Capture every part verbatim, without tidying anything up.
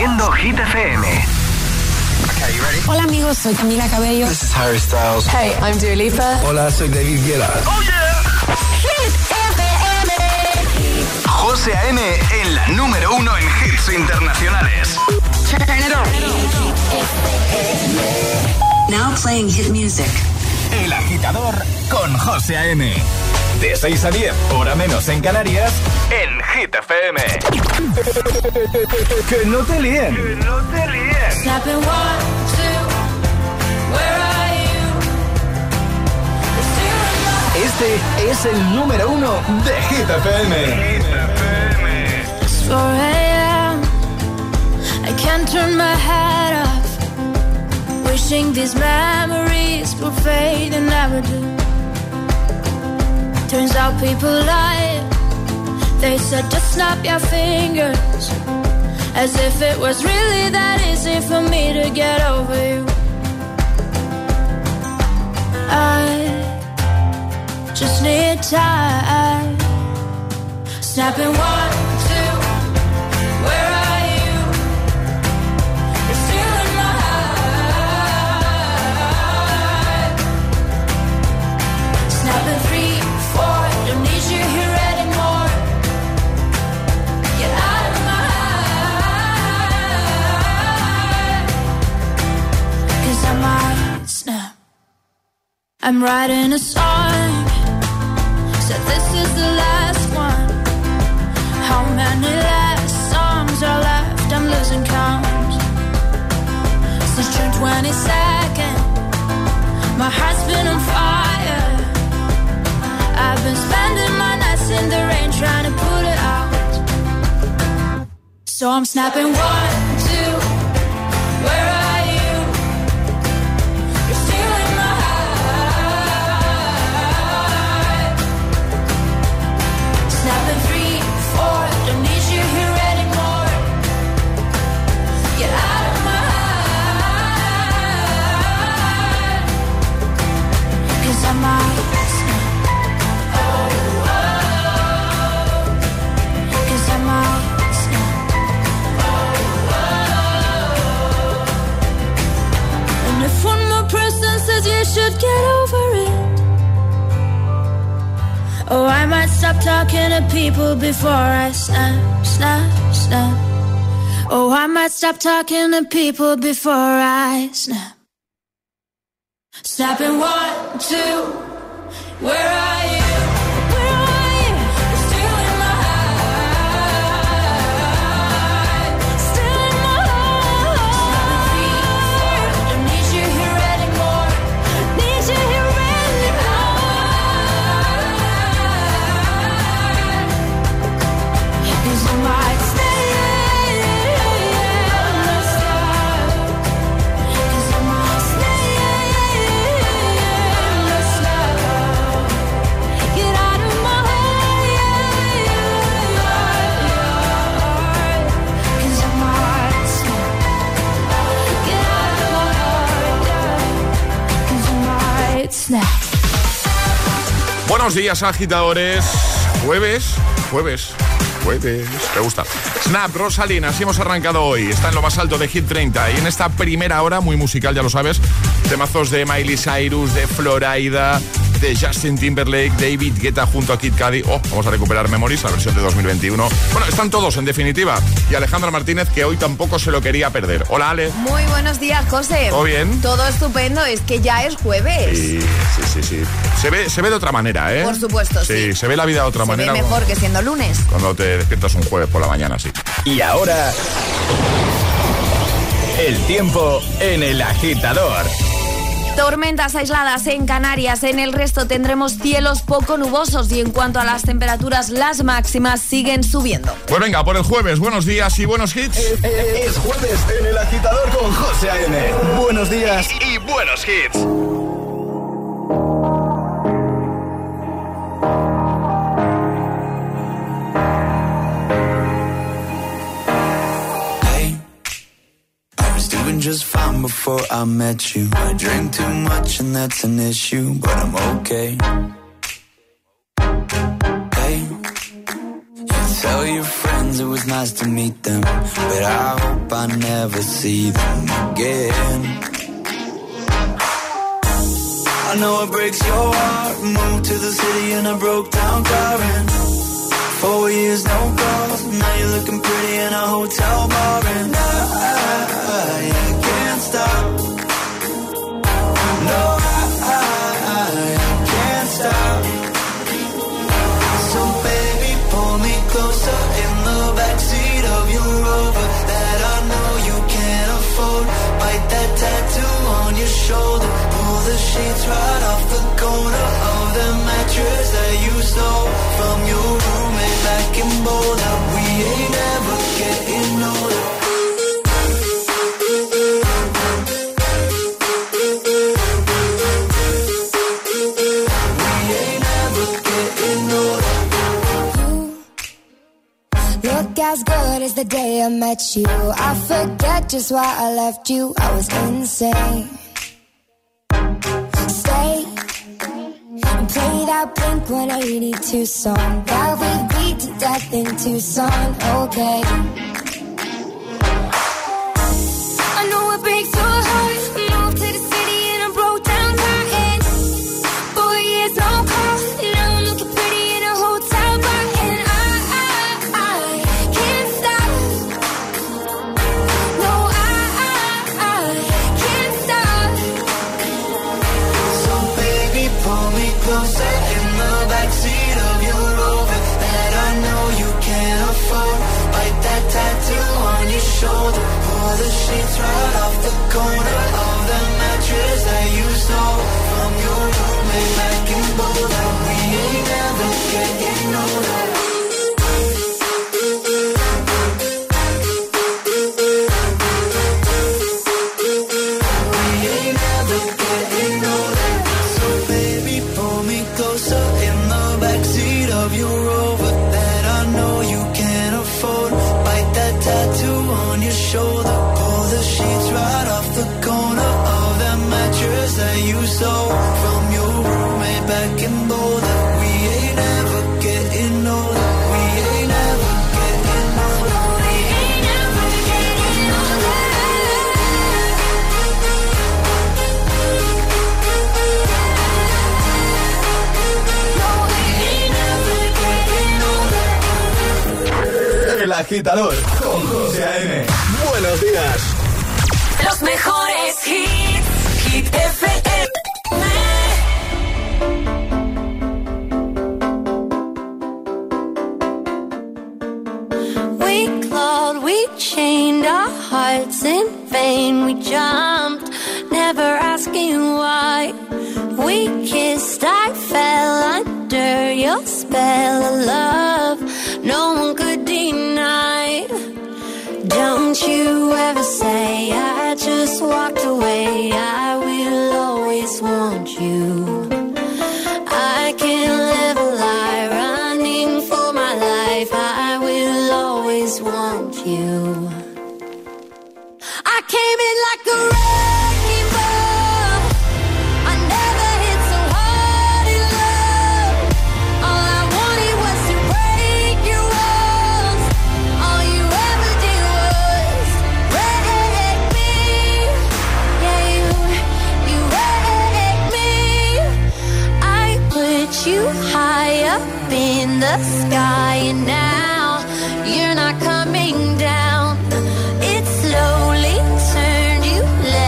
haciendo Hit F M. Okay, you ready? Hola amigos, soy Camila Cabello. This is Harry Styles. Hey, I'm Dua Lipa. Hola, soy David Guetta. ¡Oh, yeah! Hit F M. José A M en la número uno en hits internacionales. Turn it on. Now playing hit music. El Agitador con José A M. De seis a diez, hora menos en Canarias, en Hit F M. Que no te líen. Que no te líen. Snapping one, two, where are you? Este es el número uno de Hit F M. It's four a.m. I can't turn my head off. Wishing these memories will fade and never do. Turns out people lie. They said just snap your fingers, as if it was really that easy for me to get over you. I just need time. Snapping one, two, where are you? You're still in my heart. Snapping three, four, don't need you here anymore. Get out of my heart. 'Cause I might snap. I'm writing a song. Said this is the last one. How many last songs are left? I'm losing count. Since June twenty-second, my heart's been on fire. I've been spending my nights in the rain trying to put it out. So I'm snapping one, two, where are you? You're still in my heart. Snapping three, four, don't need you here anymore. Get out of my heart. 'Cause I might snap. Oh, oh. 'Cause I might snap. Oh, oh. And if one more person says you should get over it, oh, I might stop talking to people before I snap, snap, snap. Oh, I might stop talking to people before I snap. Snapping one, two, where are you? Where are you? You're still in my heart. Still in my heart. Snapping three, four, don't need you here anymore. Need you here anymore. 'Cause I might stay in the sky. 'Cause I might stay in the sky. Get out of my heart. 'Cause I might snap. Get out of my heart. 'Cause I might snap. Buenos días, agitadores. Jueves, jueves, jueves. Me gusta. Snap, Rosalina, así hemos arrancado hoy. Está en lo más alto de Hit treinta. Y en esta primera hora, muy musical, ya lo sabes, temazos de Miley Cyrus, de Florida, de Justin Timberlake, David Guetta junto a Kid Cudi. Oh, vamos a recuperar Memories, la versión de dos mil veintiuno. Bueno, están todos, en definitiva. Y Alejandra Martínez, que hoy tampoco se lo quería perder. Hola, Ale. Muy buenos días, José. ¿Todo bien? Todo estupendo, es que ya es jueves. Sí, sí, sí, sí. Se ve, se ve de otra manera, ¿eh? Por supuesto, sí. Sí, se ve la vida de otra se manera. ve mejor que siendo lunes. Cuando te despiertas un jueves por la mañana, sí. Y ahora, el tiempo en El Agitador. Tormentas aisladas en Canarias, en el resto tendremos cielos poco nubosos y en cuanto a las temperaturas, las máximas siguen subiendo. Pues venga, por el jueves, buenos días y buenos hits. Es, es, es jueves en El Agitador con José A M. Buenos días y, y buenos hits. Just fine before I met you. I drink too much and that's an issue, but I'm okay. Hey, you tell your friends friends, it was nice to meet them, but I hope I never see them again. I know it breaks your heart. Moved to the city and I broke down crying. Four years, no calls. Now you're looking pretty in a hotel bar. And I, I, I can't stop. No, I, I, I can't stop. So baby, pull me closer in the backseat of your Rover that I know you can't afford. Bite that tattoo on your shoulder. Pull the sheets right off the corner of the mattress that you stole from your roommate back in Boulder. We ain't ever getting older. We ain't ever getting older. You look as good as the day I met you. I forget just why I left you. I was insane. Stay and play that Blink one eighty-two song that we beat to death in Tucson. Okay. I know it breaks your heart. Moved to the city and I broke down crying. Four years, no call. Now I'm looking pretty in a hotel bar. And I, I, I can't stop. No, I, I, I can't stop. So baby, pull me closer in the backseat of your Rover that I know you can't afford. Bite that tattoo on your shoulder. Pull the sheets right off the corner of the mattress that you stole from your roommate back in Boulder. We ain't never getting older. We ain't never getting older. So baby, pull me closer in the backseat of your Rover that I know you can't afford. Bite that tattoo on your shoulder. Pull the sheets right off the corner of that mattress that you stole from your roommate back in Boulder. We ain't ever getting older. We ain't ever getting older. We ain't ever getting older. El Agitador con José A M. Buenos días. Los mejores hits. Hit F M. We clawed, we chained our hearts in vain. We jumped, never asking why. We kissed, I fell under your spell of love. No one could deny. Don't you ever say I just walked away. I will always want you. I can't live a lie running for my life. I will always want you. I came in like a wrecking ball. I never hit so hard in love. All I wanted was to break your walls. All you ever did was wreck me. Yeah, you, you wrecked me. I put you high up in the sky, and now you're not coming down. It slowly turned you left.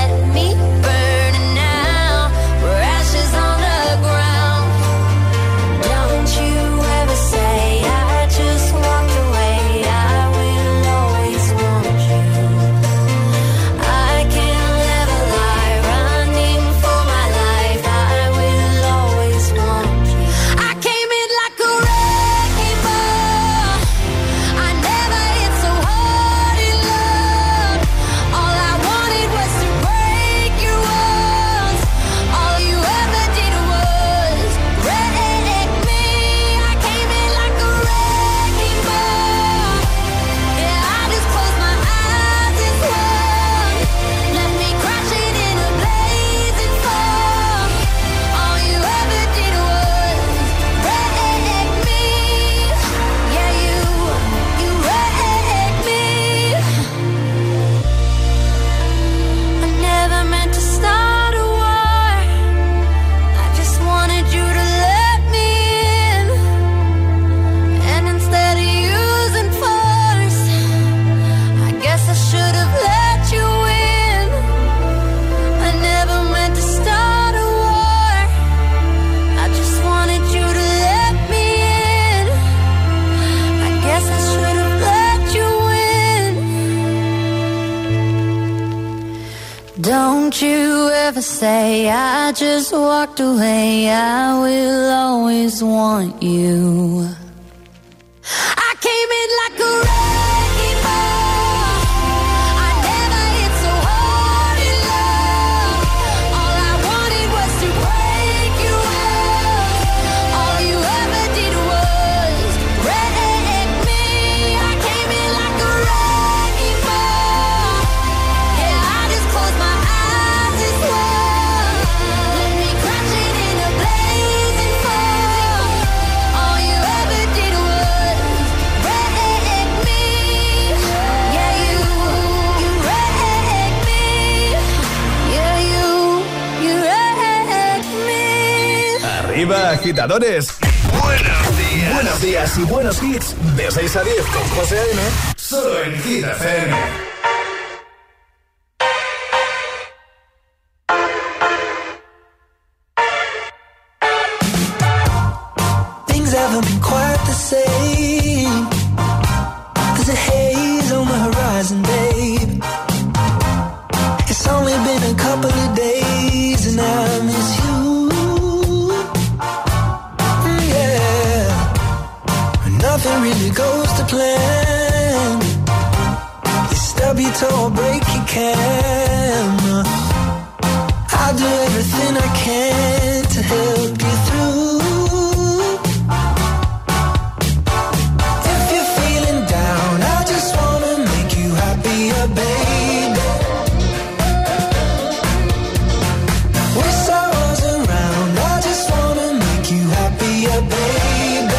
Don't you ever say I just walked away. I will always want you. I came in like a wrecking ball. I never hit so hard in love. All I wanted was to break you up. All you ever did was wreck me. I came in like a wrecking ball. Yeah, I just closed my eyes and swore. Let me crashing in a blazing fall. All you ever did was wreck me. Yeah, you, you wrecked me. Yeah, you, you wrecked me. Arriba, agitadores. Buenos días. Buenos días y buenos hits. De seis a diez con José A M. Solo en Hit F M. Things haven't been quite the same. There's a haze on the horizon, babe. It's only been a couple of days and I miss you. Mm, yeah. Nothing really goes to plan. You stub your toe or break your camera. I'll do everything I can to help you through. If you're feeling down, I just wanna make you happier, baby. Wish I was around, I just wanna make you happier, baby.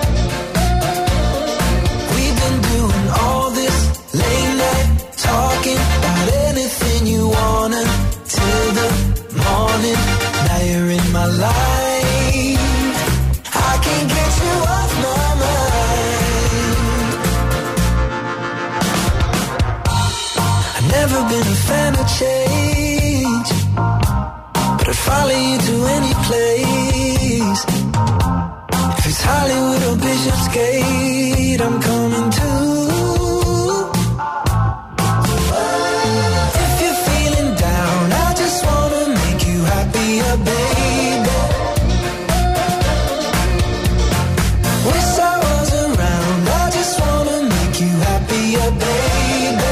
We've been doing all this late night talking about anything you wanna till the morning. Now you're in my life. I can't get you off my mind. I've never been a fan of change, but I'd follow you to any place. If it's Hollywood or Bishopsgate, I'm coming too. If you're feeling down, I just wanna make you happier, baby. Wish I was around, I just wanna make you happier, baby.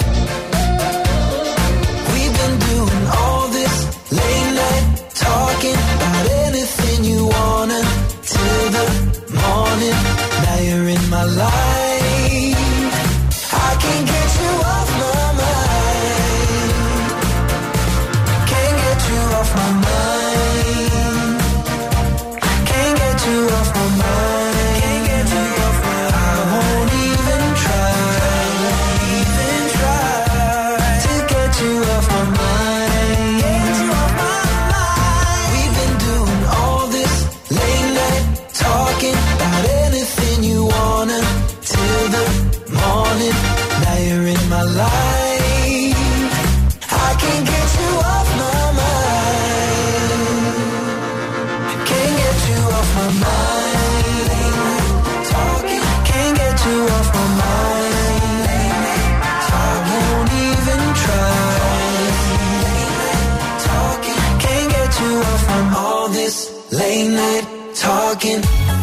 We've been doing all this late night talking about anything you wanna till the morning. Now you're in my life. I can't get you off my mind. Can't get you off my mind. Can't get you off my mind. Can't get you off my mind. I won't even try, even try to get you off my mind. Get you off my mind. We've been doing all this late night talking about anything you wanna till the morning. Now you're in my life. I can't get you off my mind. Can't get you off my mind. Talking, can't get you off my mind. I won't even try. Talking, can't get you off from all this late night talking.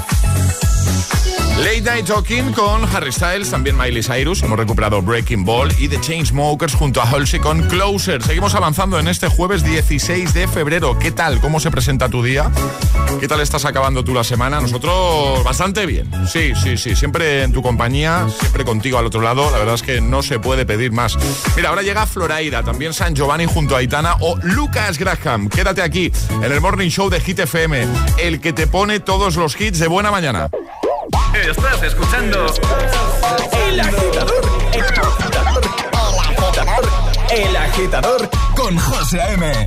Late Night Talking con Harry Styles, también Miley Cyrus. Hemos recuperado Breaking Ball y The Chainsmokers junto a Halsey con Closer. Seguimos avanzando en este jueves dieciséis de febrero. ¿Qué tal? ¿Cómo se presenta tu día? ¿Qué tal estás acabando tú la semana? Nosotros bastante bien. Sí, sí, sí. Siempre en tu compañía, siempre contigo al otro lado. La verdad es que no se puede pedir más. Mira, ahora llega Floraida, también San Giovanni junto a Aitana o Lucas Graham. Quédate aquí en el Morning Show de Hit F M, el que te pone todos los hits de buena mañana. Estás escuchando El Agitador, El Agitador, El Agitador, El Agitador con José A M.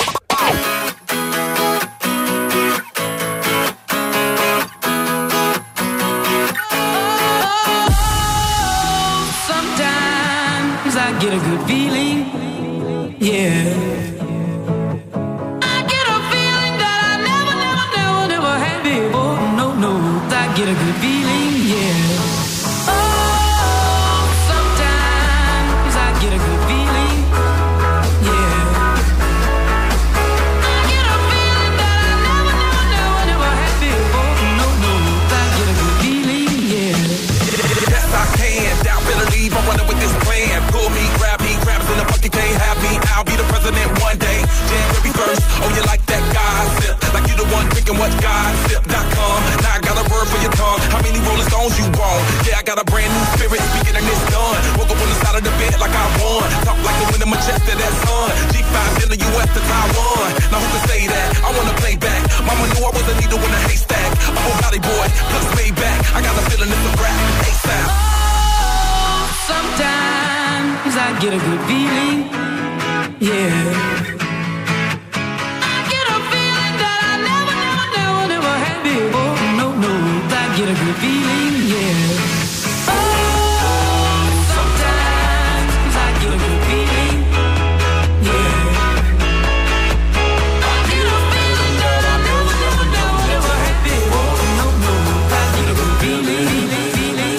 Sometimes I get a good feeling, yeah. I get a feeling that I never, never, never, never had before. No, no, I get a good feeling, yeah. Oh, sometimes I get a good feeling, yeah. that sun. G five in the U S to Taiwan. Now who can say that? I wanna play back. Mama knew I was a needle in a haystack. I'm a body boy, plus way back. I got a feeling it's a rap. ASAP. Oh, sometimes I get a good feeling. Yeah. Get a good feeling, yeah. Oh, sometimes I get a good feeling, yeah. I get a feeling that I never, never, never, never had before. No, no, I get a good feeling, feeling,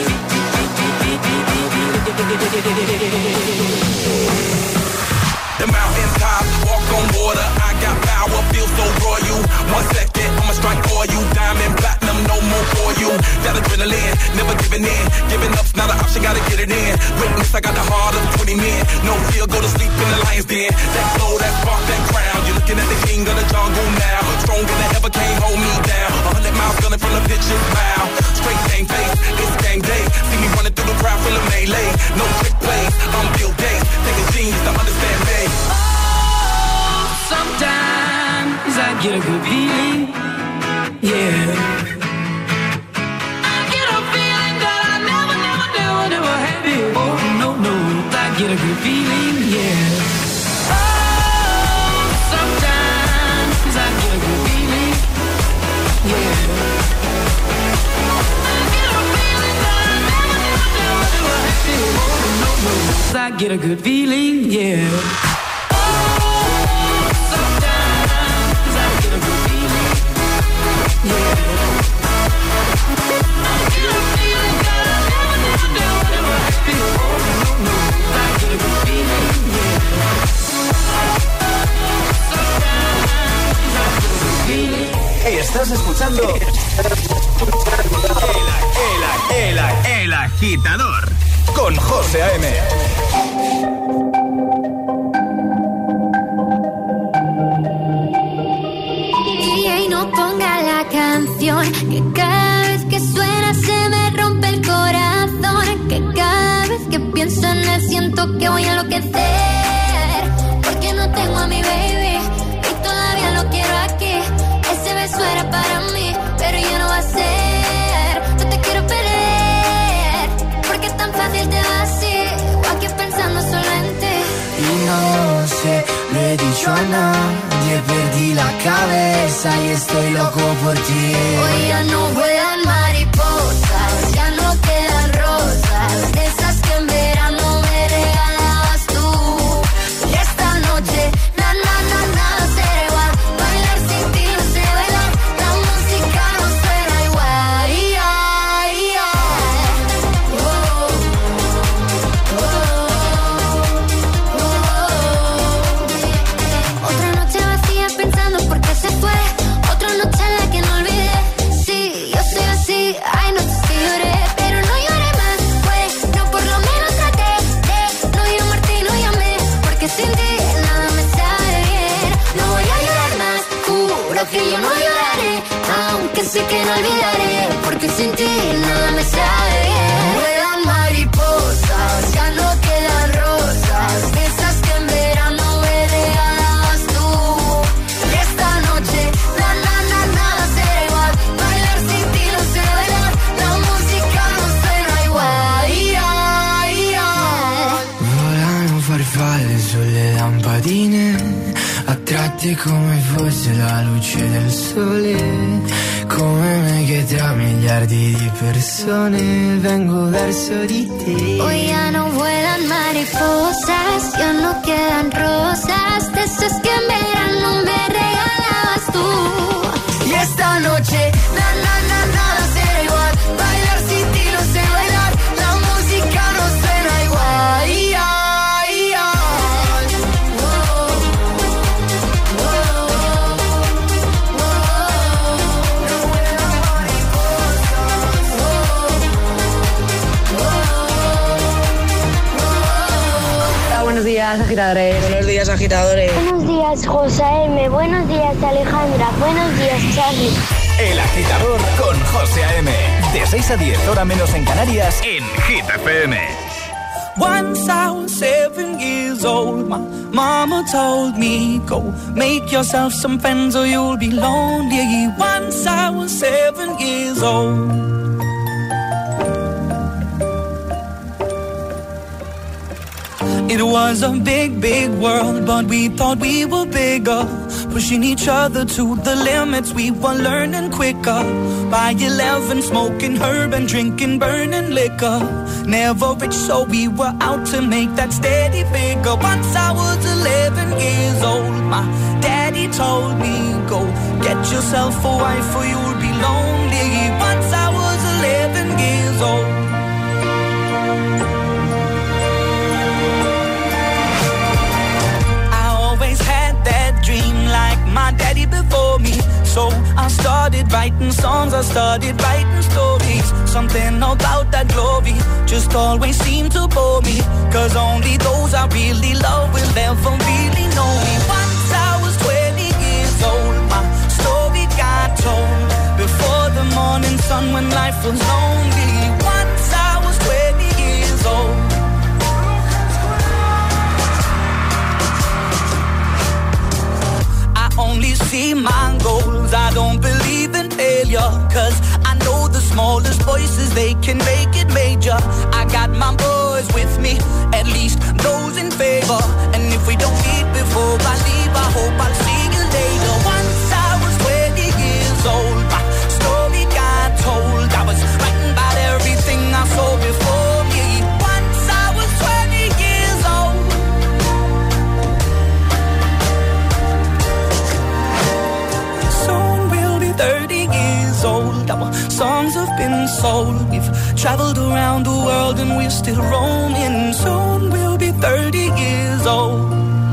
feeling. The mountain top, walk on water. I got power, feel so royal. One second, I'ma strike for you. Diamond, platinum, no more for you. That adrenaline, never giving in. Giving up's not an option, gotta get it in. Witness, I got the heart of twenty men. No fear, go to sleep in the lion's den. That flow, that spark, that crown. You're looking at the king of the jungle now. Stronger than ever, can't hold me down. A hundred miles gunning from the pitcher's mouth. Straight game face, it's game day. See me running through the crowd full of melee. No trick plays, I'm Bill Gates. Take a genius to understand me. Oh, sometimes I get a good feeling, yeah. I get a feeling that I never, never, never, never had before. No, no, I get a good feeling, yeah. Oh, sometimes I get a good feeling, yeah. I get a feeling that I never, never, never, never had before. No, no, I get a good feeling, yeah. Estás escuchando el, el, el, el Agitador con José A M. Y no ponga la canción, que cada vez que suena se me rompe el corazón, que cada vez que pienso en él siento que voy a enloquecer, porque no tengo a mi baby y todavía lo quiero aquí. Ese beso era para mí, pero ya no va a ser. No te quiero perder, porque tan fácil te va así, o aquí pensando solo en ti. Y no sé, lo he dicho a nadie, perdí la cabeza y estoy loco por ti. Hoy ya no vuelan mariposas, ya no quedan rosas, de esas que en verano me regalabas tú. Y esta noche, na, na, na, nada será igual. Bailar sin ti no sé bailar, la música no suena igual. Yeah, yeah. Oh, oh, oh. Otra noche vacía pensando por qué se fue. Otra noche en la que no olvidé. Sí, yo soy así. Hay noches que lloré, pero no lloré más. Pues, no, por lo menos traté de no llamarte y no llamé, porque sin ti nada me sabe bien. No voy a llorar más, juro que yo no lloraré, aunque sé que no olvidaré, porque sin ti nada me sabe bien. Vuelan mariposas, ya no quedan rosas, de esas que en verano me regalabas tú. Y esta noche, na, na, na, nada será igual. Bailar sin ti no sé bailar, la música no suena igual. Yeah, yeah. Volano farfalle sulle lampadine, attratti come fosse la luce del sole. Come me che tra miliardi di persone vengo verso di te. Hoy ya no vuelan mariposas, ya no quedan rosas, de esas que en verano me regalabas tú. Y esta noche, na, na, na, nada será igual. Bailar sin ti no sé bailar, la música no suena igual. Yeah, yeah. Oh, oh, oh, oh. No vuelan mariposas. Oh, oh, oh. Hola, buenos días, agitadores. Buenos días, agitadores. Buenos días, José M. Buenos días, Alejandra. Buenos días, Charlie. El Agitador con José A M. De seis a diez, hora menos en Canarias, en Hit F M. Once I was seven years years old. My mama told me, go make yourself some friends or you'll be lonely. Once I was seven years old. It was a big, big world, but we thought we were bigger. Pushing each other to the limits, we were learning quicker. By eleven, smoking herb and drinking burning liquor. Never rich, so we were out to make that steady figure. Once I was eleven years old, my daddy told me, go get yourself a wife or you'll be lonely. Once I was eleven years old. Like my daddy before me. So I started writing songs, I started writing stories. Something about that glory just always seemed to bore me. Cause only those I really love will ever really know me. Once I was twenty years old, my story got told. Before the morning sun when life was lonely. Once I was twenty years old. Only see my goals, I don't believe in failure. Cause I know the smallest voices, they can make it major. I got my boys with me, at least those in favor. And if we don't meet before I leave, I hope I'll see you later. Once I was twenty years old, my story got told. I was writing about everything I saw before me. Once I was twenty years old. thirty years old, our songs have been sold. We've traveled around the world and we're still roaming. Soon we'll be thirty years old.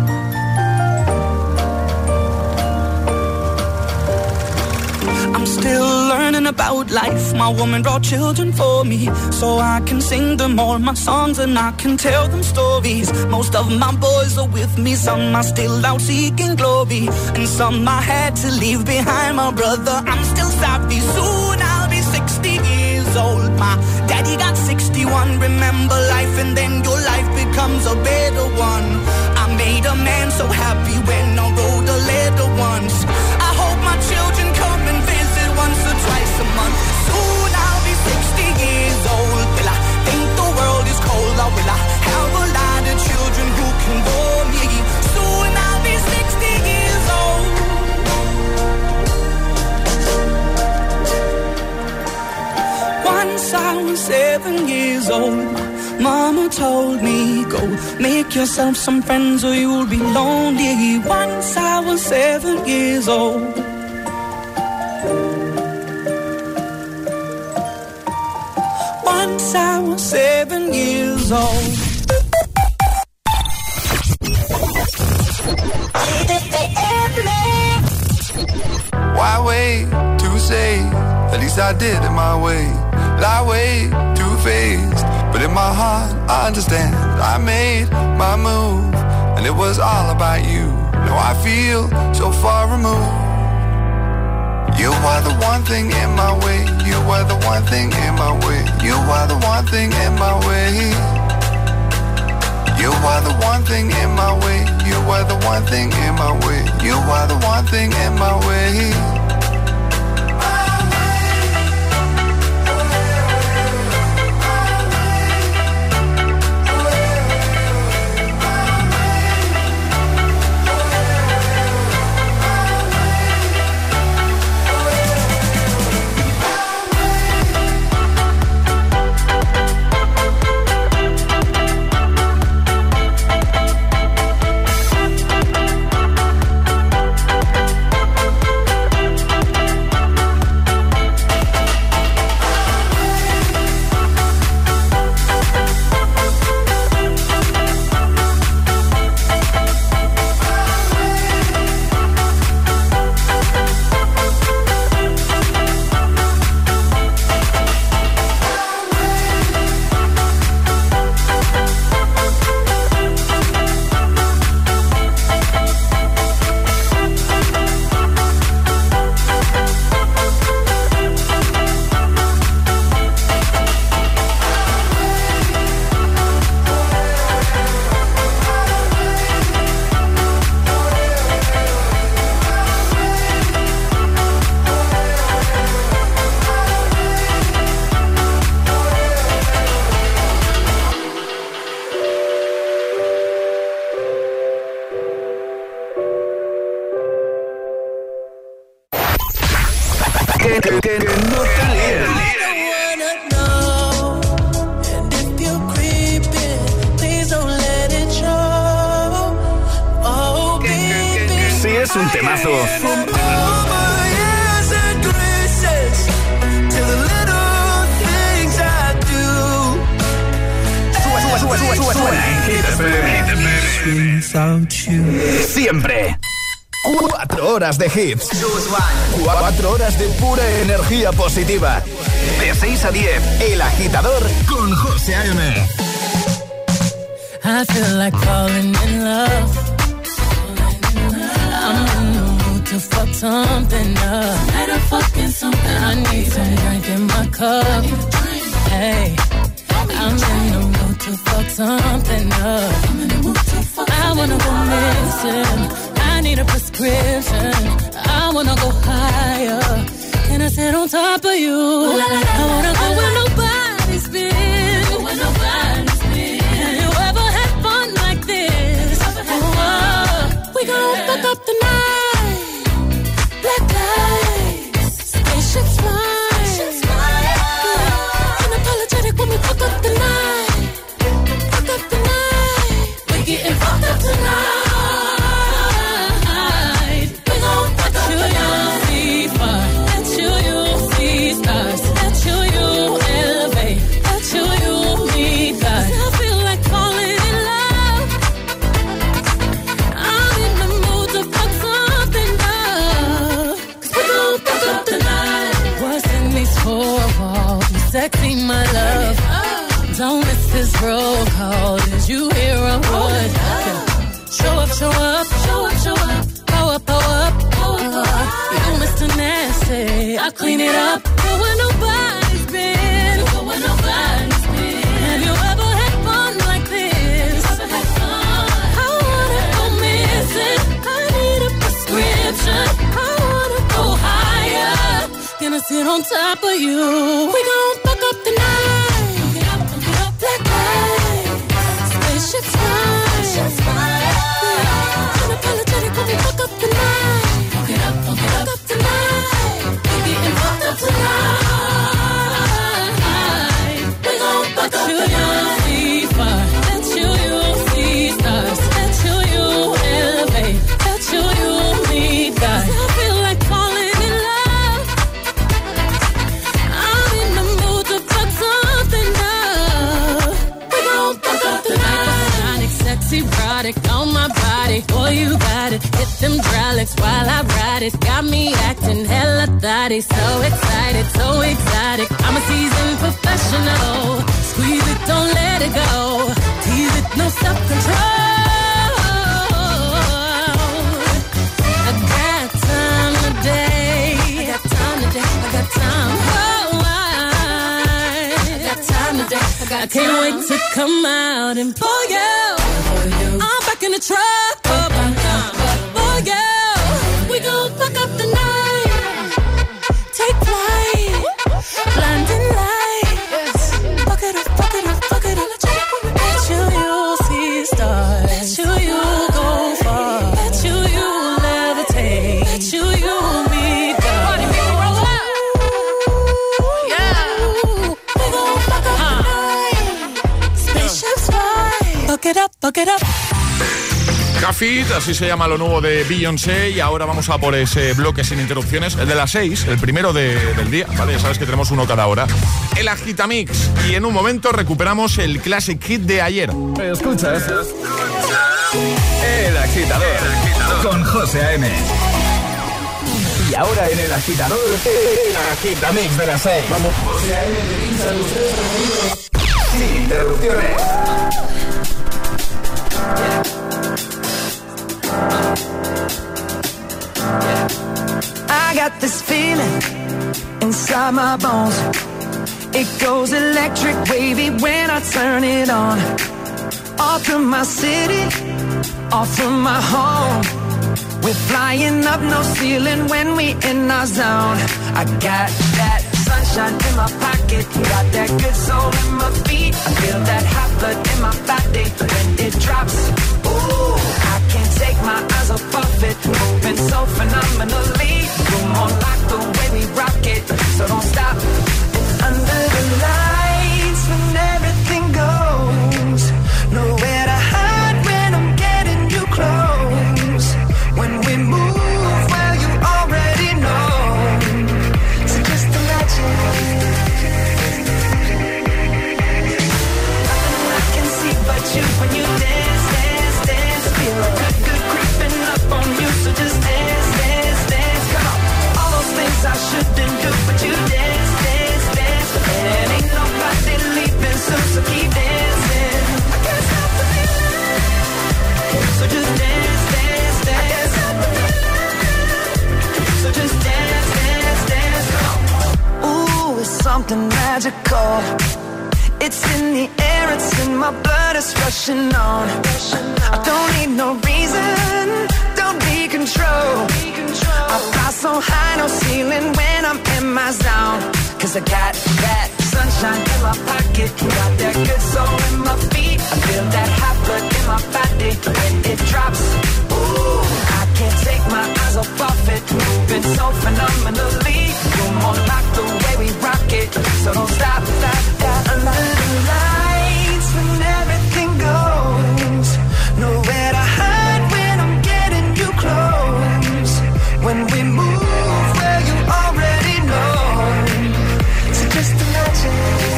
I'm still learning about life. My woman brought children for me, so I can sing them all my songs and I can tell them stories. Most of my boys are with me, some are still out seeking glory, and some I had to leave behind. My brother, I'm still sorry. Soon I'll be sixty years old. My daddy got sixty-one. Remember life and then your life becomes a better one. I made a man so happy when I wrote a letter once. I hope my children come and visit once or twice a month. Soon I'll be sixty years old. Will I think the world is cold, or will I have a lot of children who can bore me? Soon I'll be sixty years old. Once I was seven years old. Mama told me, go make yourself some friends or you'll be lonely. Once I was seven years old. Once I was seven years old. Why wait to say? At least I did it my way. Lie way too faced, but in my heart I understand. I made my move, and it was all about you. Now I feel so far removed. You are the one thing in my way. You are the one thing in my way. You are the one thing in my way. You are the one thing in my way. You are the one thing in my way. You are the one thing in my way. que, que, que, que no te líen. Si es un temazo. Sube, sube, sube, suena en Hit F M. Siempre. Cuatro horas de hits. Cuatro horas de pura energía positiva. De seis a diez, El Agitador con José A M. I feel like falling in love. I'm in the mood to fuck something up. Better fucking something. I need some drink in my cup. Hey, I'm in the mood to fuck something up. I wanna go missing. I need a prescription. I wanna go higher. Can I sit on top of you? I wanna go where nobody's been. Where nobody's been. Have you ever had fun like this? Oh, we gon' fuck up the night. Black lights, spaceships fly. Unapologetic when we fuck up the night. Fuck up the night. We getting fucked up tonight. Sexy, my love. Don't miss this roll call. Did you hear a word? Show up, show up, show up, show up. Power up, power up, power up. You Mister Nasty, I clean it up. Go where nobody's been. Go where nobody's been. Have you ever had fun like this? Ever had fun? I wanna go missing. I need a prescription. I wanna go higher. Gonna sit on top of you. We gon' fuck up the night. Get up, get up, black lights. Spaceships fly. Unapologetic when we fuck up the night. Fuck it up, fuck it up tonight. We getting fucked up tonight. We gon' fuck up the night. See fire. Let you, you see stars. Let you, you elevate. Let you, you meet God. I feel like falling in love. I'm in the mood to fuck something up. We gon' fuck up the night. Sexy product on my body. Boy, you got it. Hit them hydraulics while I ride it. Got me acting hella thotty. So excited, so exotic. I'm a seasoned professional. Squeeze it, don't let it go. Tease it, no self-control. I got time today. I got time today. I got time. Oh, I, I got time today. I, got I can't time. wait to come out and pull you. I'm back in the truck. Oh, oh yeah. We gon' fuck up the night. Take flight. Blinding lights. Fuck it up, fuck it up, fuck it up. Bet you you'll see stars. Bet you you'll go far. Bet you you'll levitate. Bet you you'll meet God. Party people roll up. Yeah. We gon' fuck up uh. the night. Spaceships fly. Fuck it up, fuck it up. Cafit, así se llama lo nuevo de Beyoncé. Y ahora vamos a por ese bloque sin interrupciones, el de las seis, el primero de, del día, ¿vale? Ya sabes que tenemos uno cada hora. El Agitamix. Y en un momento recuperamos el Classic Hit de ayer. ¿Escuchas? El Agitador, el Agitador. Con José A M. Y ahora en el Agitador, el Agitamix de las seis. Vamos. José A M te pincha los tres sonidos sin interrupciones. I got this feeling inside my bones. It goes electric wavy when I turn it on. Off from my city, off from my home. We're flying up, no ceiling when we in our zone. I got that sunshine in my pocket, got that good soul in my feet. I feel that hot blood in my body when it drops. Ooh, I can't take my eyes off of it, moving so phenomenally. You're more like the way we rock it. something magical. It's in the air, it's in my blood, it's rushing on. I don't need no reason, don't be control. I fly so high, no ceiling when I'm in my zone. Cause I got that sunshine in my pocket, got that good soul in my feet. I feel that hot blood in my body when it drops. Ooh, I can't take my eyes off of it, moving so phenomenally. You're more like the way we rock it, so don't stop, stop, stop. Under the lights when everything goes, nowhere to hide when I'm getting you close. When we move, well you already know. So just imagine.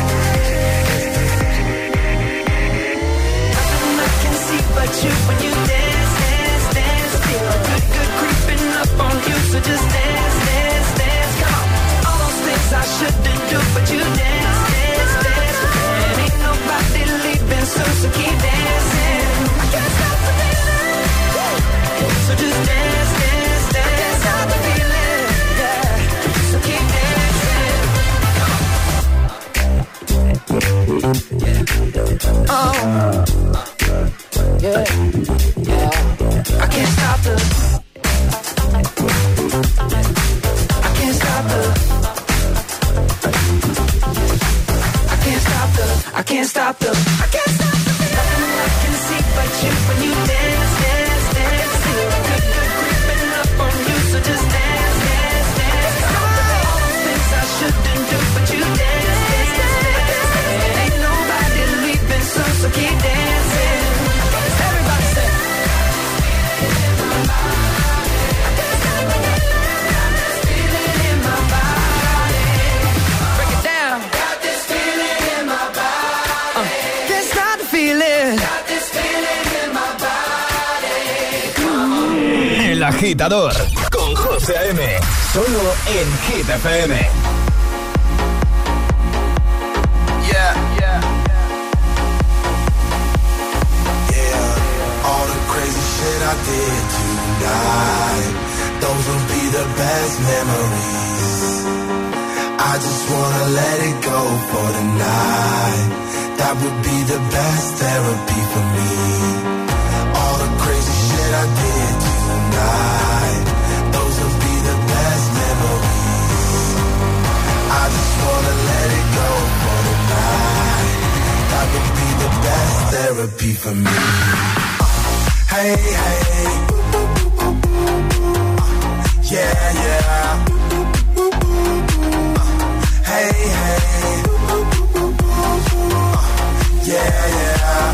Nothing I can see but you when you dance, dance, dance. Feel a good, good creeping up on you. So just dance, dance, dance. Come on. All those things I shouldn't do, but you dance, dance, dance. And ain't nobody leaving soon, so keep dancing. I can't stop the feeling. So just dance, dance, dance. I can't stop the feeling. Yeah. So keep dancing. Oh, yeah, yeah. I can't stop the. I can't stop the. I can't stop the. I can't stop the. I can't stop the. Nothing I can see but you when you dance, dance, dance. Feel a good, good creeping up on you, so just dance, dance, dance. All those things I shouldn't do, but you dance, dance, dance. And ain't nobody leaving soon, so keep dancing. Everybody say. I can't stop the feeling in my body. Break it down. Got this feeling in my body. Uh, can't stop the feeling. Got this feeling in my body. El Agitador con José A M. Solo en Hit F M. Yeah, yeah, yeah. All the crazy shit I did tonight, those will be the best memories. I just wanna let it go for the night. That would be the best therapy for me. All the crazy shit I did tonight, those will be the best memories. I just wanna let it go for the night. That would be the best therapy for me. Hey, hey, yeah, yeah. Hey, hey, yeah, yeah.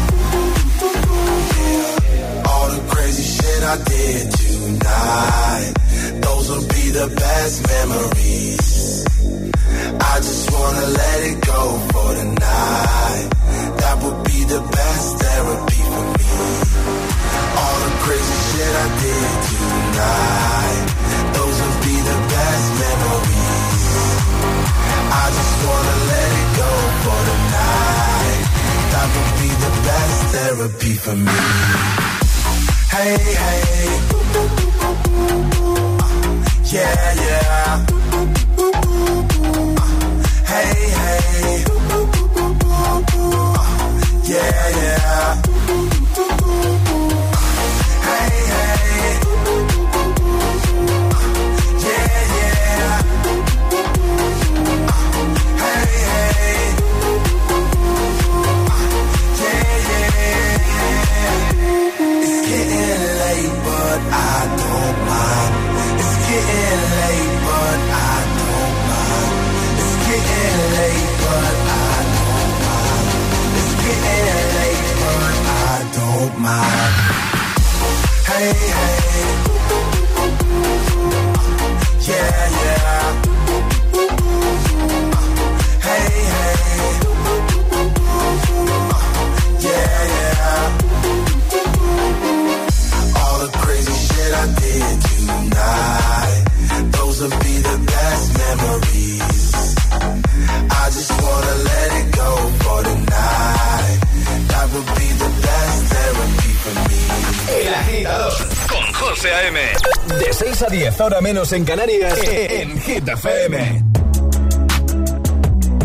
All the crazy shit I did tonight, those will be the best memories. I just wanna let it go for the night. That would be the best therapy for me. All the crazy shit I did tonight, those will be the best memories. I just wanna let it go for the night. That would be the best therapy for me. Hey, hey, yeah, yeah. Hey, hey, yeah, yeah. Hey, hey, yeah, yeah. Hey, hey, yeah, yeah. It's getting late, but I don't mind. It's getting late, but I don't mind. It's getting late, but I don't mind. It's getting late, but I don't mind. Hey, hey, yeah, yeah. Hey, hey, yeah, yeah. All the crazy shit I did tonight, those will be the best memories. I just wanna let it go for the night. That would be the best therapy for me. El Agitador con José A M. De seis a diez, hora menos en Canarias, en Hit F M.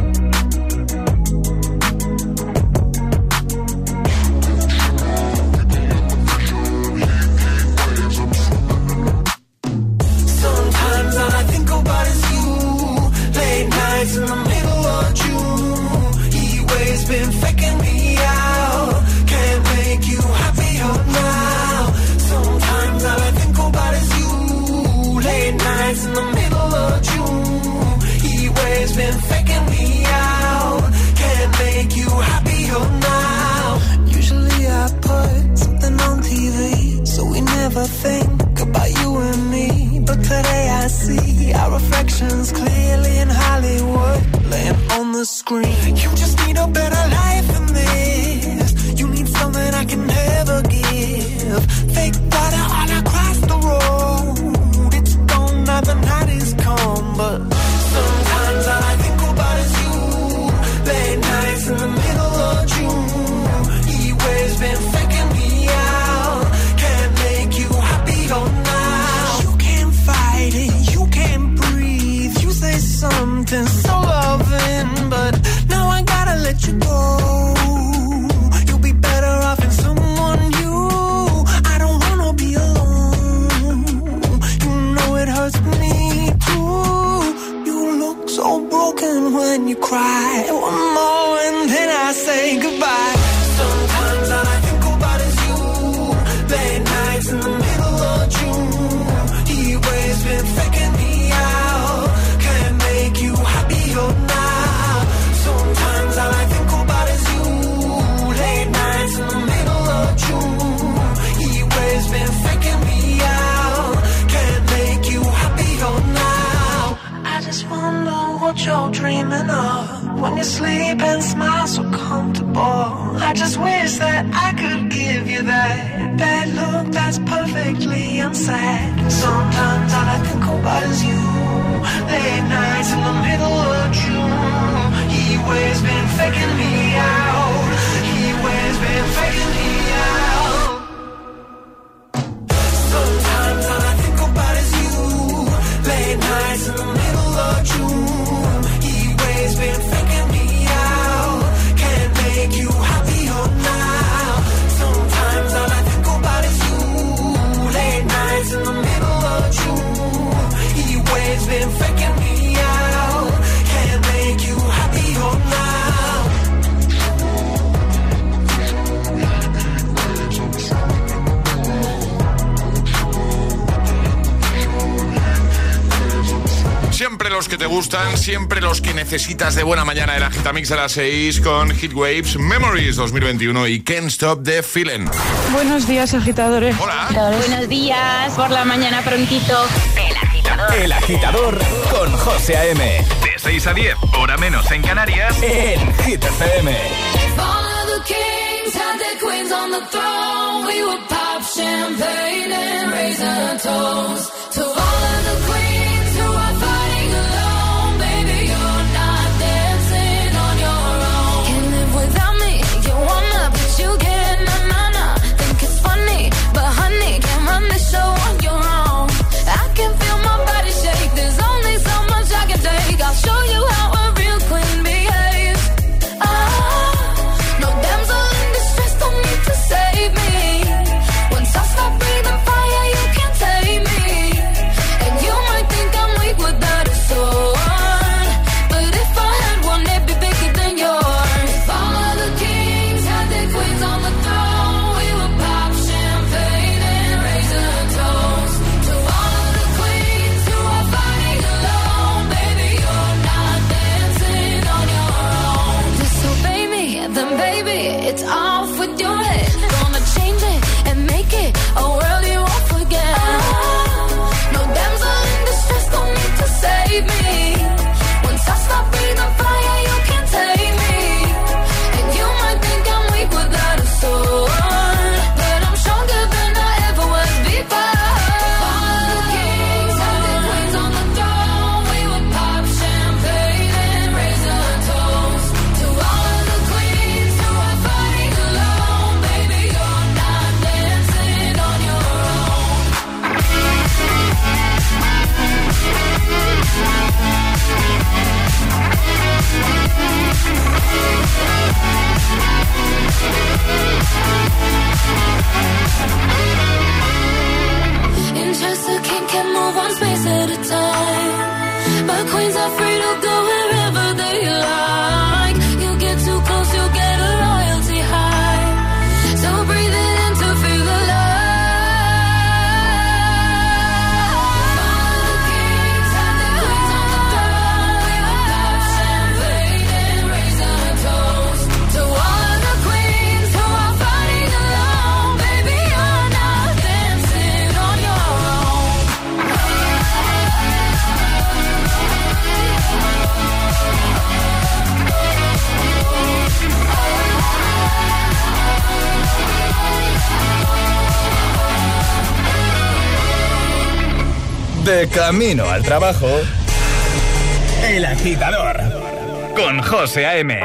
scream. You just need a better life than this. You need something I can never give. Fake water all across the road. It's gone now, the night is come. But sometimes all I think about is you. Late nights in the middle of June. He waves been faking me out. Can't make you happy or now. You can't fight it, you can't breathe. You say something so loving, but now I gotta let you go. You'll be better off in someone new. I don't wanna be alone. You know it hurts me too. You look so broken when you cry. One more and then I say goodbye. Sometimes all I think about is you. Late nights in the middle of June. He waves been faking me out. Can't make you happier now. Sometimes all I think about is you. Late nights in the middle of June. He waves been faking me out. Can't make you happier now. I just wonder what you're dreaming of. When you sleep and smile so comfortable. I just wish that I could give you that bad look that's perfectly unsaid. Sometimes all I think about is you. Late nights in the middle of June. He waves been faking me out. He waves been faking me out. Sometimes all I think about is you. Late nights in the middle of June. He waves been faking me out. Can't make you happier now. Sometimes all I think about is you. Late nights in the middle of June. He waves been faking me out. Can't make you happier now. Siempre los que te gustan, siempre los que necesitas de buena mañana. El Agitamix a las seis con Heatwaves, Memories dos mil veintiuno y Can't Stop the Feeling. Buenos días, agitadores. Hola. Buenos días, por la mañana prontito. El Agitador. El Agitador con José A M. De seis a diez, hora menos en Canarias. En Hit F M. Champagne and raise a toast to all of the queens who are fighting alone. Baby, you're not dancing on your own. Can't live without me, you wanna, but you can't. Na na na, think it's funny, but honey, can't run the show on your own. I can feel my body shake. There's only so much I can take. I'll show you how a real queen behaves. Ah, no damsel in distress, don't need to save me. Once I stop breathing fire, you can't take me. And you might de camino al trabajo. El Agitador con José A M.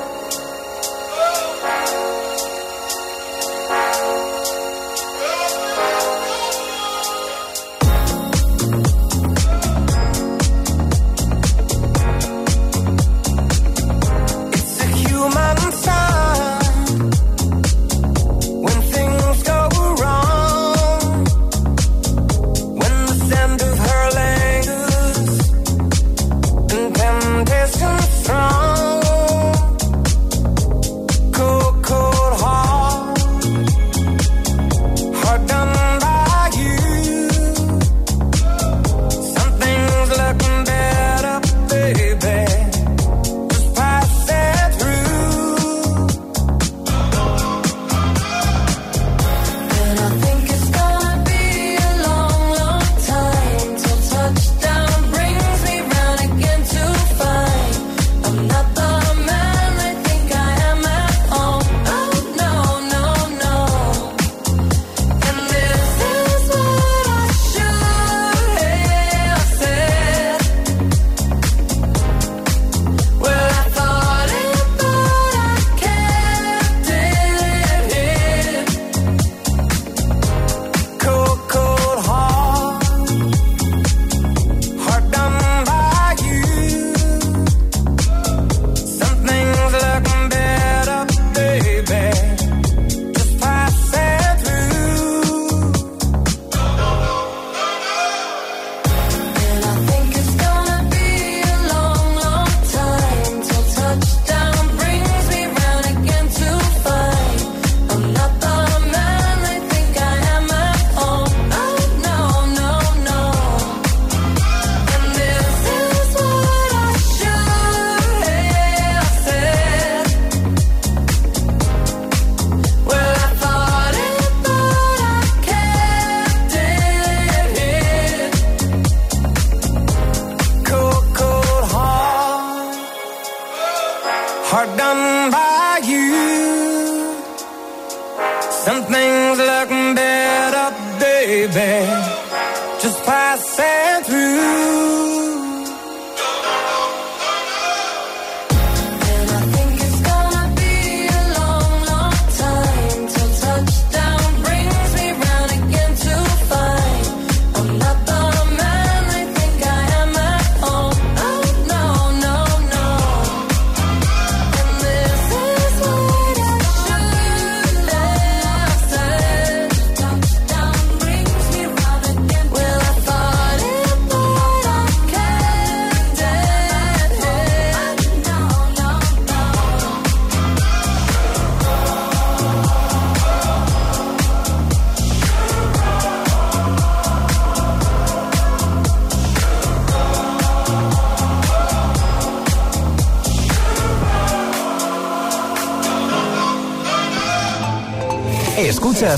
Escuchas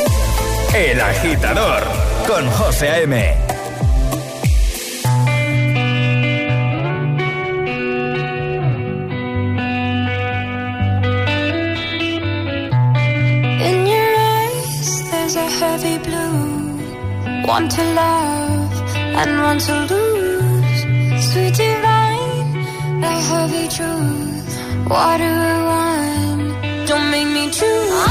El Agitador con José A M. In your eyes there's a heavy blue, one to love and one to lose. Sweet divine, a heavy truth, water or wine, don't make me choose.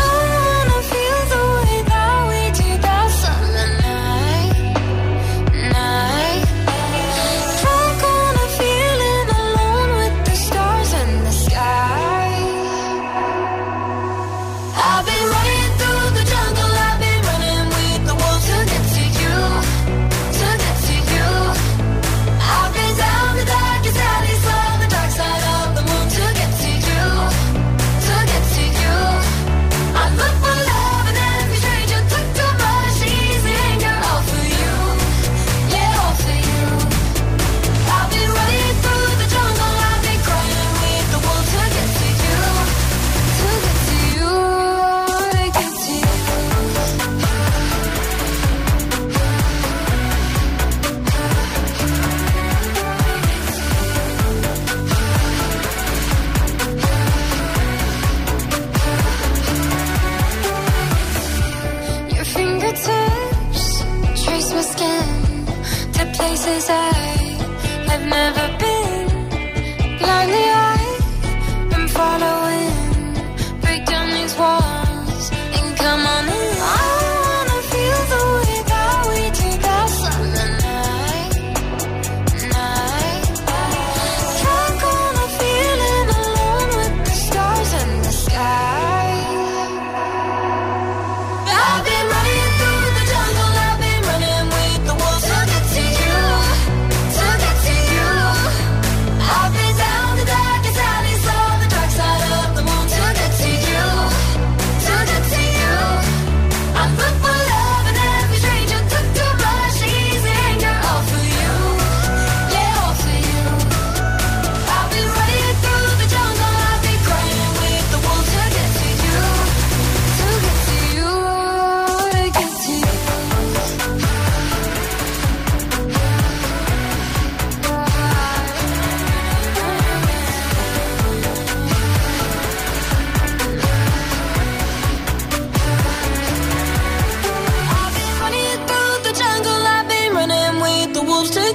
I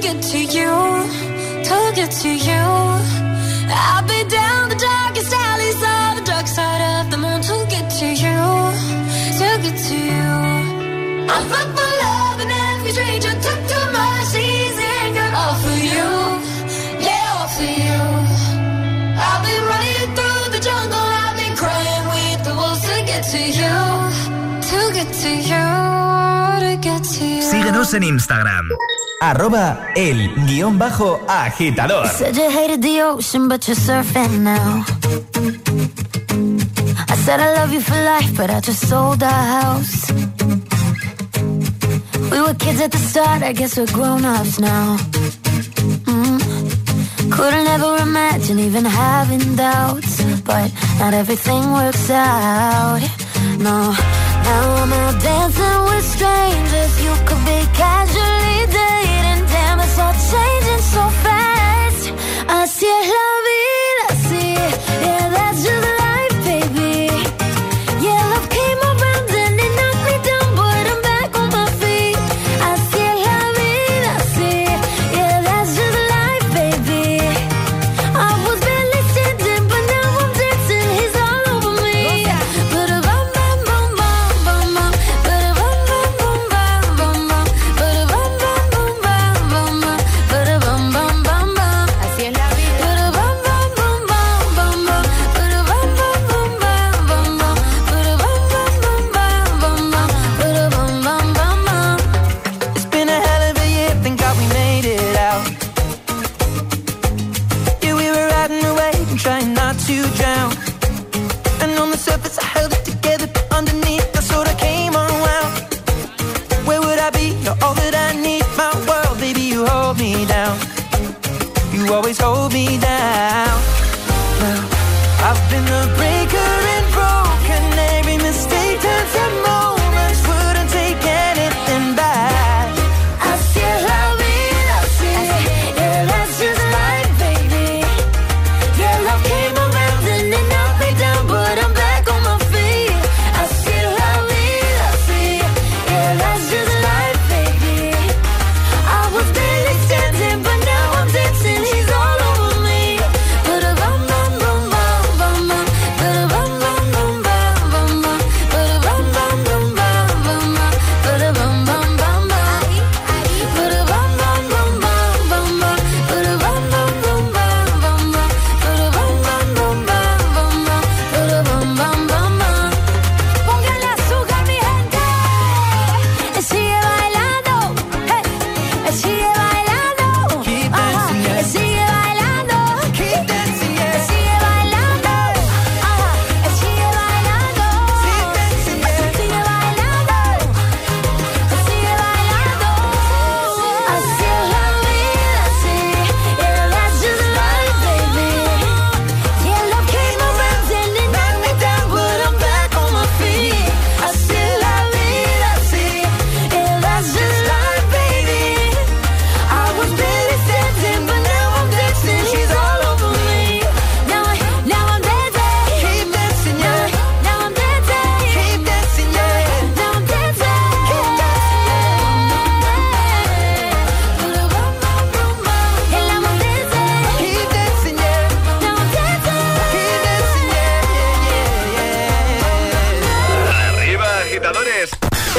get to you, to get to you. I'll be down the darkest alleys of the dark side of the moon to get to you, to get to you. I'm fucked for love and every stranger took too much easy anger. All for you, yeah, all for you. I'll be running through the jungle, I've been crying with the wolves to get to you, to get to you, to get to you. Síguenos en Instagram, arroba el guión bajo agitador. You said you hated the ocean, but you're surfing now. I said I love you for life, but I just sold our house. We were kids at the start, I guess we're grown-ups now. Mm. Couldn't ever imagine even having doubts, but not everything works out. No, now I'm out dancing with strangers. You could be casually dating. Damn, it's all changing so fast. Así es la vida, sí. Yeah, that's just life, baby. Yeah, love came around and it knocked me down, but I'm back on my feet. Así es la vida, sí. Yeah, that's just life, baby. I was barely standing, but now I'm dancing. He's all over me. Ba-da-bum, bum, bum, bum, bum, bum. Ba-da-bum, bum, bum, bum, bum, bum. Ba-da-bum, bum, bum, bum, bum, bum. Ba-da-bum, bum, bum, bum. Así es la vida. Ba-da-bum, bum, bum, bum, bum, bum. Ba-da-bum, bum, bum, bum, bum, bum. Ba-da-bum, bum, bum, bum, bum, bum. Ba-da-bum, bum, bum, bum. It's been a hell of a year, thank God we made it out. Yeah, we were riding away and trying not to drown. And on the surface I held it together, but underneath I sort of came unwound. Where would I be? You're all that I need. My world, baby, you hold me down. You always hold me down. Well, I've been the breaker and broken. Every mistake turns to moments. Wouldn't take anything back. Así es la vida, sí. Yeah, that's just life, baby. Yeah, love came around and it knocked me down, but I'm back on my feet. Así es la vida, sí. Yeah, that's just life, baby. I was barely standing, but now I'm dancing. He's all over me. Ba-da-bum, bum, bum, bum, bum, bum. Ba-da-bum, bum, bum, bum, bum, bum. Ba-da-bum, bum, bum, bum, bum, bum. Ba-da-bum, bum, bum, bum. Ba-da-bum, bum, bum, bum, bum, bum. Ba-da-bum, bum, bum, bum, bum, bum. Ba-da-bum, bum, bum, bum, bum, bum. Ba-da-bum, bum, bum, bum. Póngale azúcar, mi gente. Sigue bailando. Hey. Sigue bailando. Keep Ajá. dancing, yeah. Sigue bailando. Keep dancing, yeah. Sigue bailando. Ajá. Sigue bailando. Keep dancing, yeah. Sigue bailando. Sigue bailando. Así es la vida, sí. Yeah, that's just life, baby. Yeah, love came around and it knocked me down, but I'm back on my feet. Así es la vida, sí. Yeah, that's just life, baby. I was barely standing, but now I'm dancing. She's all over me. Now, I, now I'm dancing. Keep dancing, yeah. Now I'm dancing. Keep dancing, yeah. Now I'm dancing. Keep dancing, And now I'm dancing. Keep dancing, yeah. Now I'm dancing. Keep dancing, yeah, yeah, yeah. Arriba, agitadores.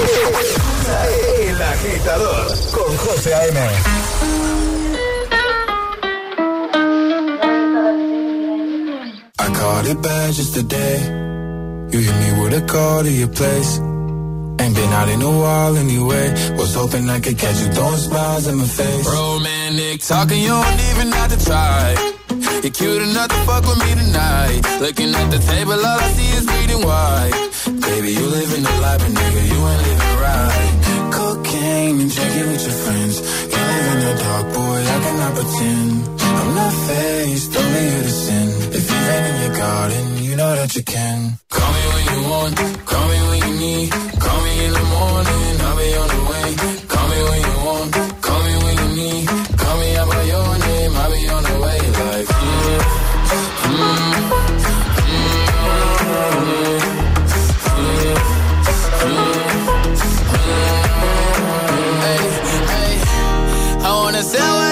El agitador con José A M. I caught it bad just today. You hit me with a call to your place. Ain't been out in a while anyway. Was hoping I could catch you throwing smiles in my face. Romantic talking, you don't even have to try. You're cute enough to fuck with me tonight. Looking at the table, all I see is bleeding white. Baby, you living the life, but nigga, you ain't living right. Cocaine and drinking with your friends. You live in the dark, boy, I cannot pretend. I'm not faced, only you to sin. If you've been in your garden, you know that you can. Call me when you want, call me when you need. Call me in the morning, I'll be on the way. Call me when you want, call me when you need. Call me out by your name, I'll be on the way. Like, mm, mm, mm, mm, mm, hey, hey, I wanna sell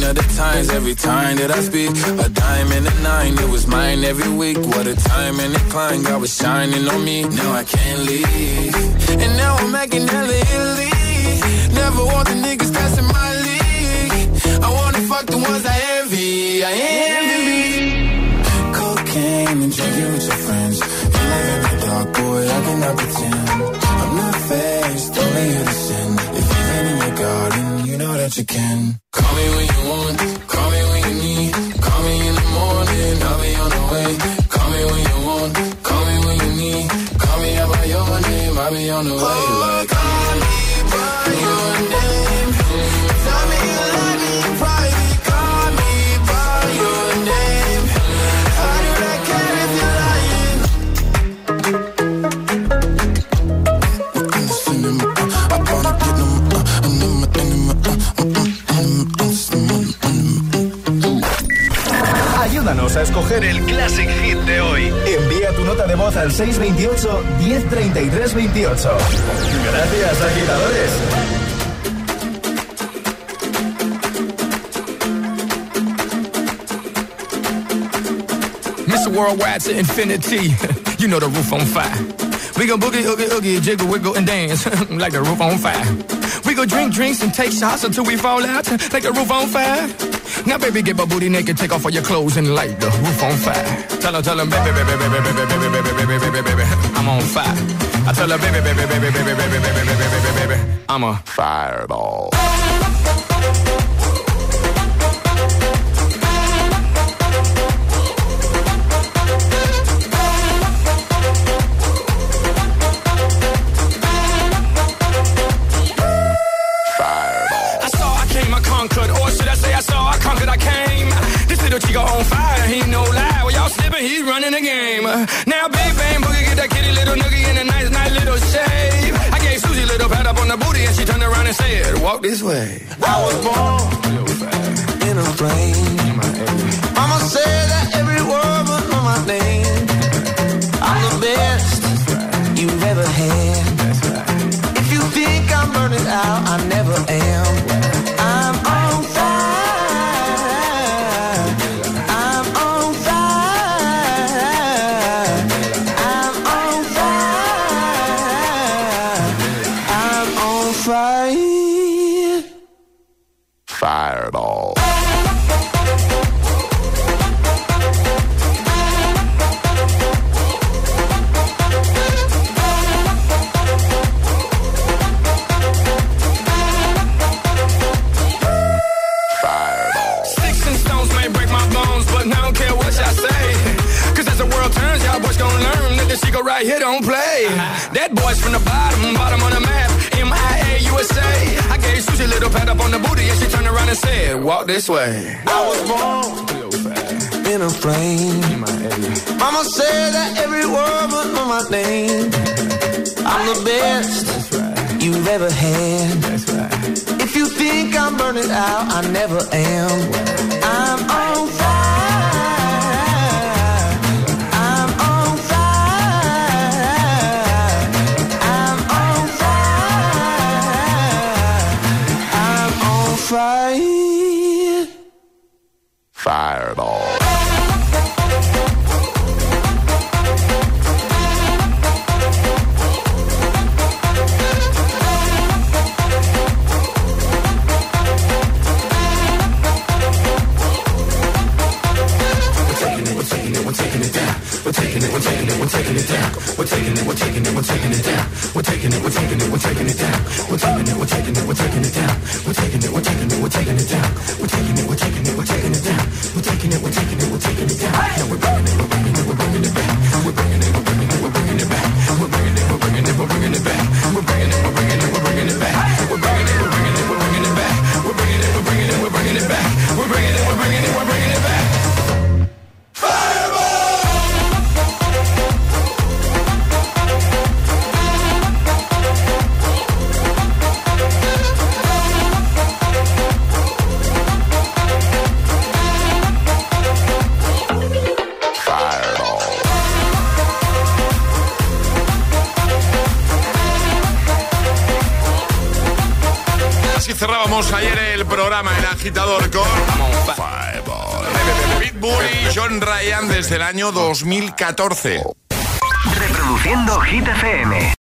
of the times, every time that I speak, a dime and a nine, it was mine every week. What a time and a climb, God was shining on me. Now I can't leave, and now I'm making hella Italy. Never want the niggas that's in my league. I wanna fuck the ones I envy, I envy. Cocaine and drinking with your friends. You live in the dark, boy, I cannot pretend. I'm not faced, only here to sin. If you've been in your garden, you know that you can. Call me when you want, call me when you need. Call me in the morning, I'll be on the way. Call me when you want, call me when you need. Call me out by your name, I'll be on the way. Like, call me by your name. Tell me you love me in private. Call me by your name. How do I care if you're lying? Ayúdanos a escoger el Classic Hit de hoy. Envía tu nota de voz al seis veintiocho, diez treinta y tres veintiocho. Gracias, agitadores. Mister Worldwide to infinity. You know the roof on fire. We go boogie, oogie, oogie, jiggle, wiggle, and dance like the roof on fire. We go drink drinks and take shots until we fall out like the roof on fire. Now, baby, get my booty naked, take off all your clothes and light the roof on fire. Tell her, tell her, baby, baby, baby, baby, baby, baby, baby, baby, baby, baby, I'm on fire. I tell her, baby, baby, baby, baby, baby, baby, baby, baby, baby, baby, I'm a fireball. Chico on fire, he no lie. Well, y'all slipping, he's running the game. Now, big bang boogie, get that kitty little noogie in a nice, nice little shave. I gave Susie a little pat up on the booty, and she turned around and said, "Walk this way." I was born in a plane. Mama said that every word was on my name. I'm the best you've ever had. If you think I'm burning out, I never am. I'm on fire. Fireball. Sticks and stones may break my bones, but I don't care what y'all say. Cause as the world turns, y'all boys gon' learn that the secret right here don't play. That boy's from the bottom, bottom of the map. M I A U S A. I gave Susie a little pat up on the booty, and she turned around and said, "Walk this way." I was born in a plane. Mama said that every word was on my name. I'm the best you've ever had. If you think I'm burning out, I never am. I'm on fire. Fire. Fireball. We're taking it, we're taking it, we're taking it down. We're taking it, we're taking it, we're taking it down. We're taking it, we're taking it, we're taking it down. We're taking it, we're taking it, we're taking it down. We're taking it, we're taking it, we're taking it down. We're taking it, we're taking it, we're taking it down. We're taking it, we're taking it, we're taking it down. Now we're bringing it, we're bringing it, we're bringing it back. We're bringing it, we're bringing it, we're bringing it back. We're bringing it, we're bringing it, we're bringing it back. We're bringing it, we're bringing it, we're bringing it back. We're bringing it, we're bringing it, we're bringing it back. We're bringing it, we're bringing it, we're bringing it back. We're bringing it, we're bringing it, we're bringing it back. Fire. Arrancábamos ayer el programa El Agitador con Pitbull y John Ryan desde el año dos mil catorce. Reproduciendo Hit F M.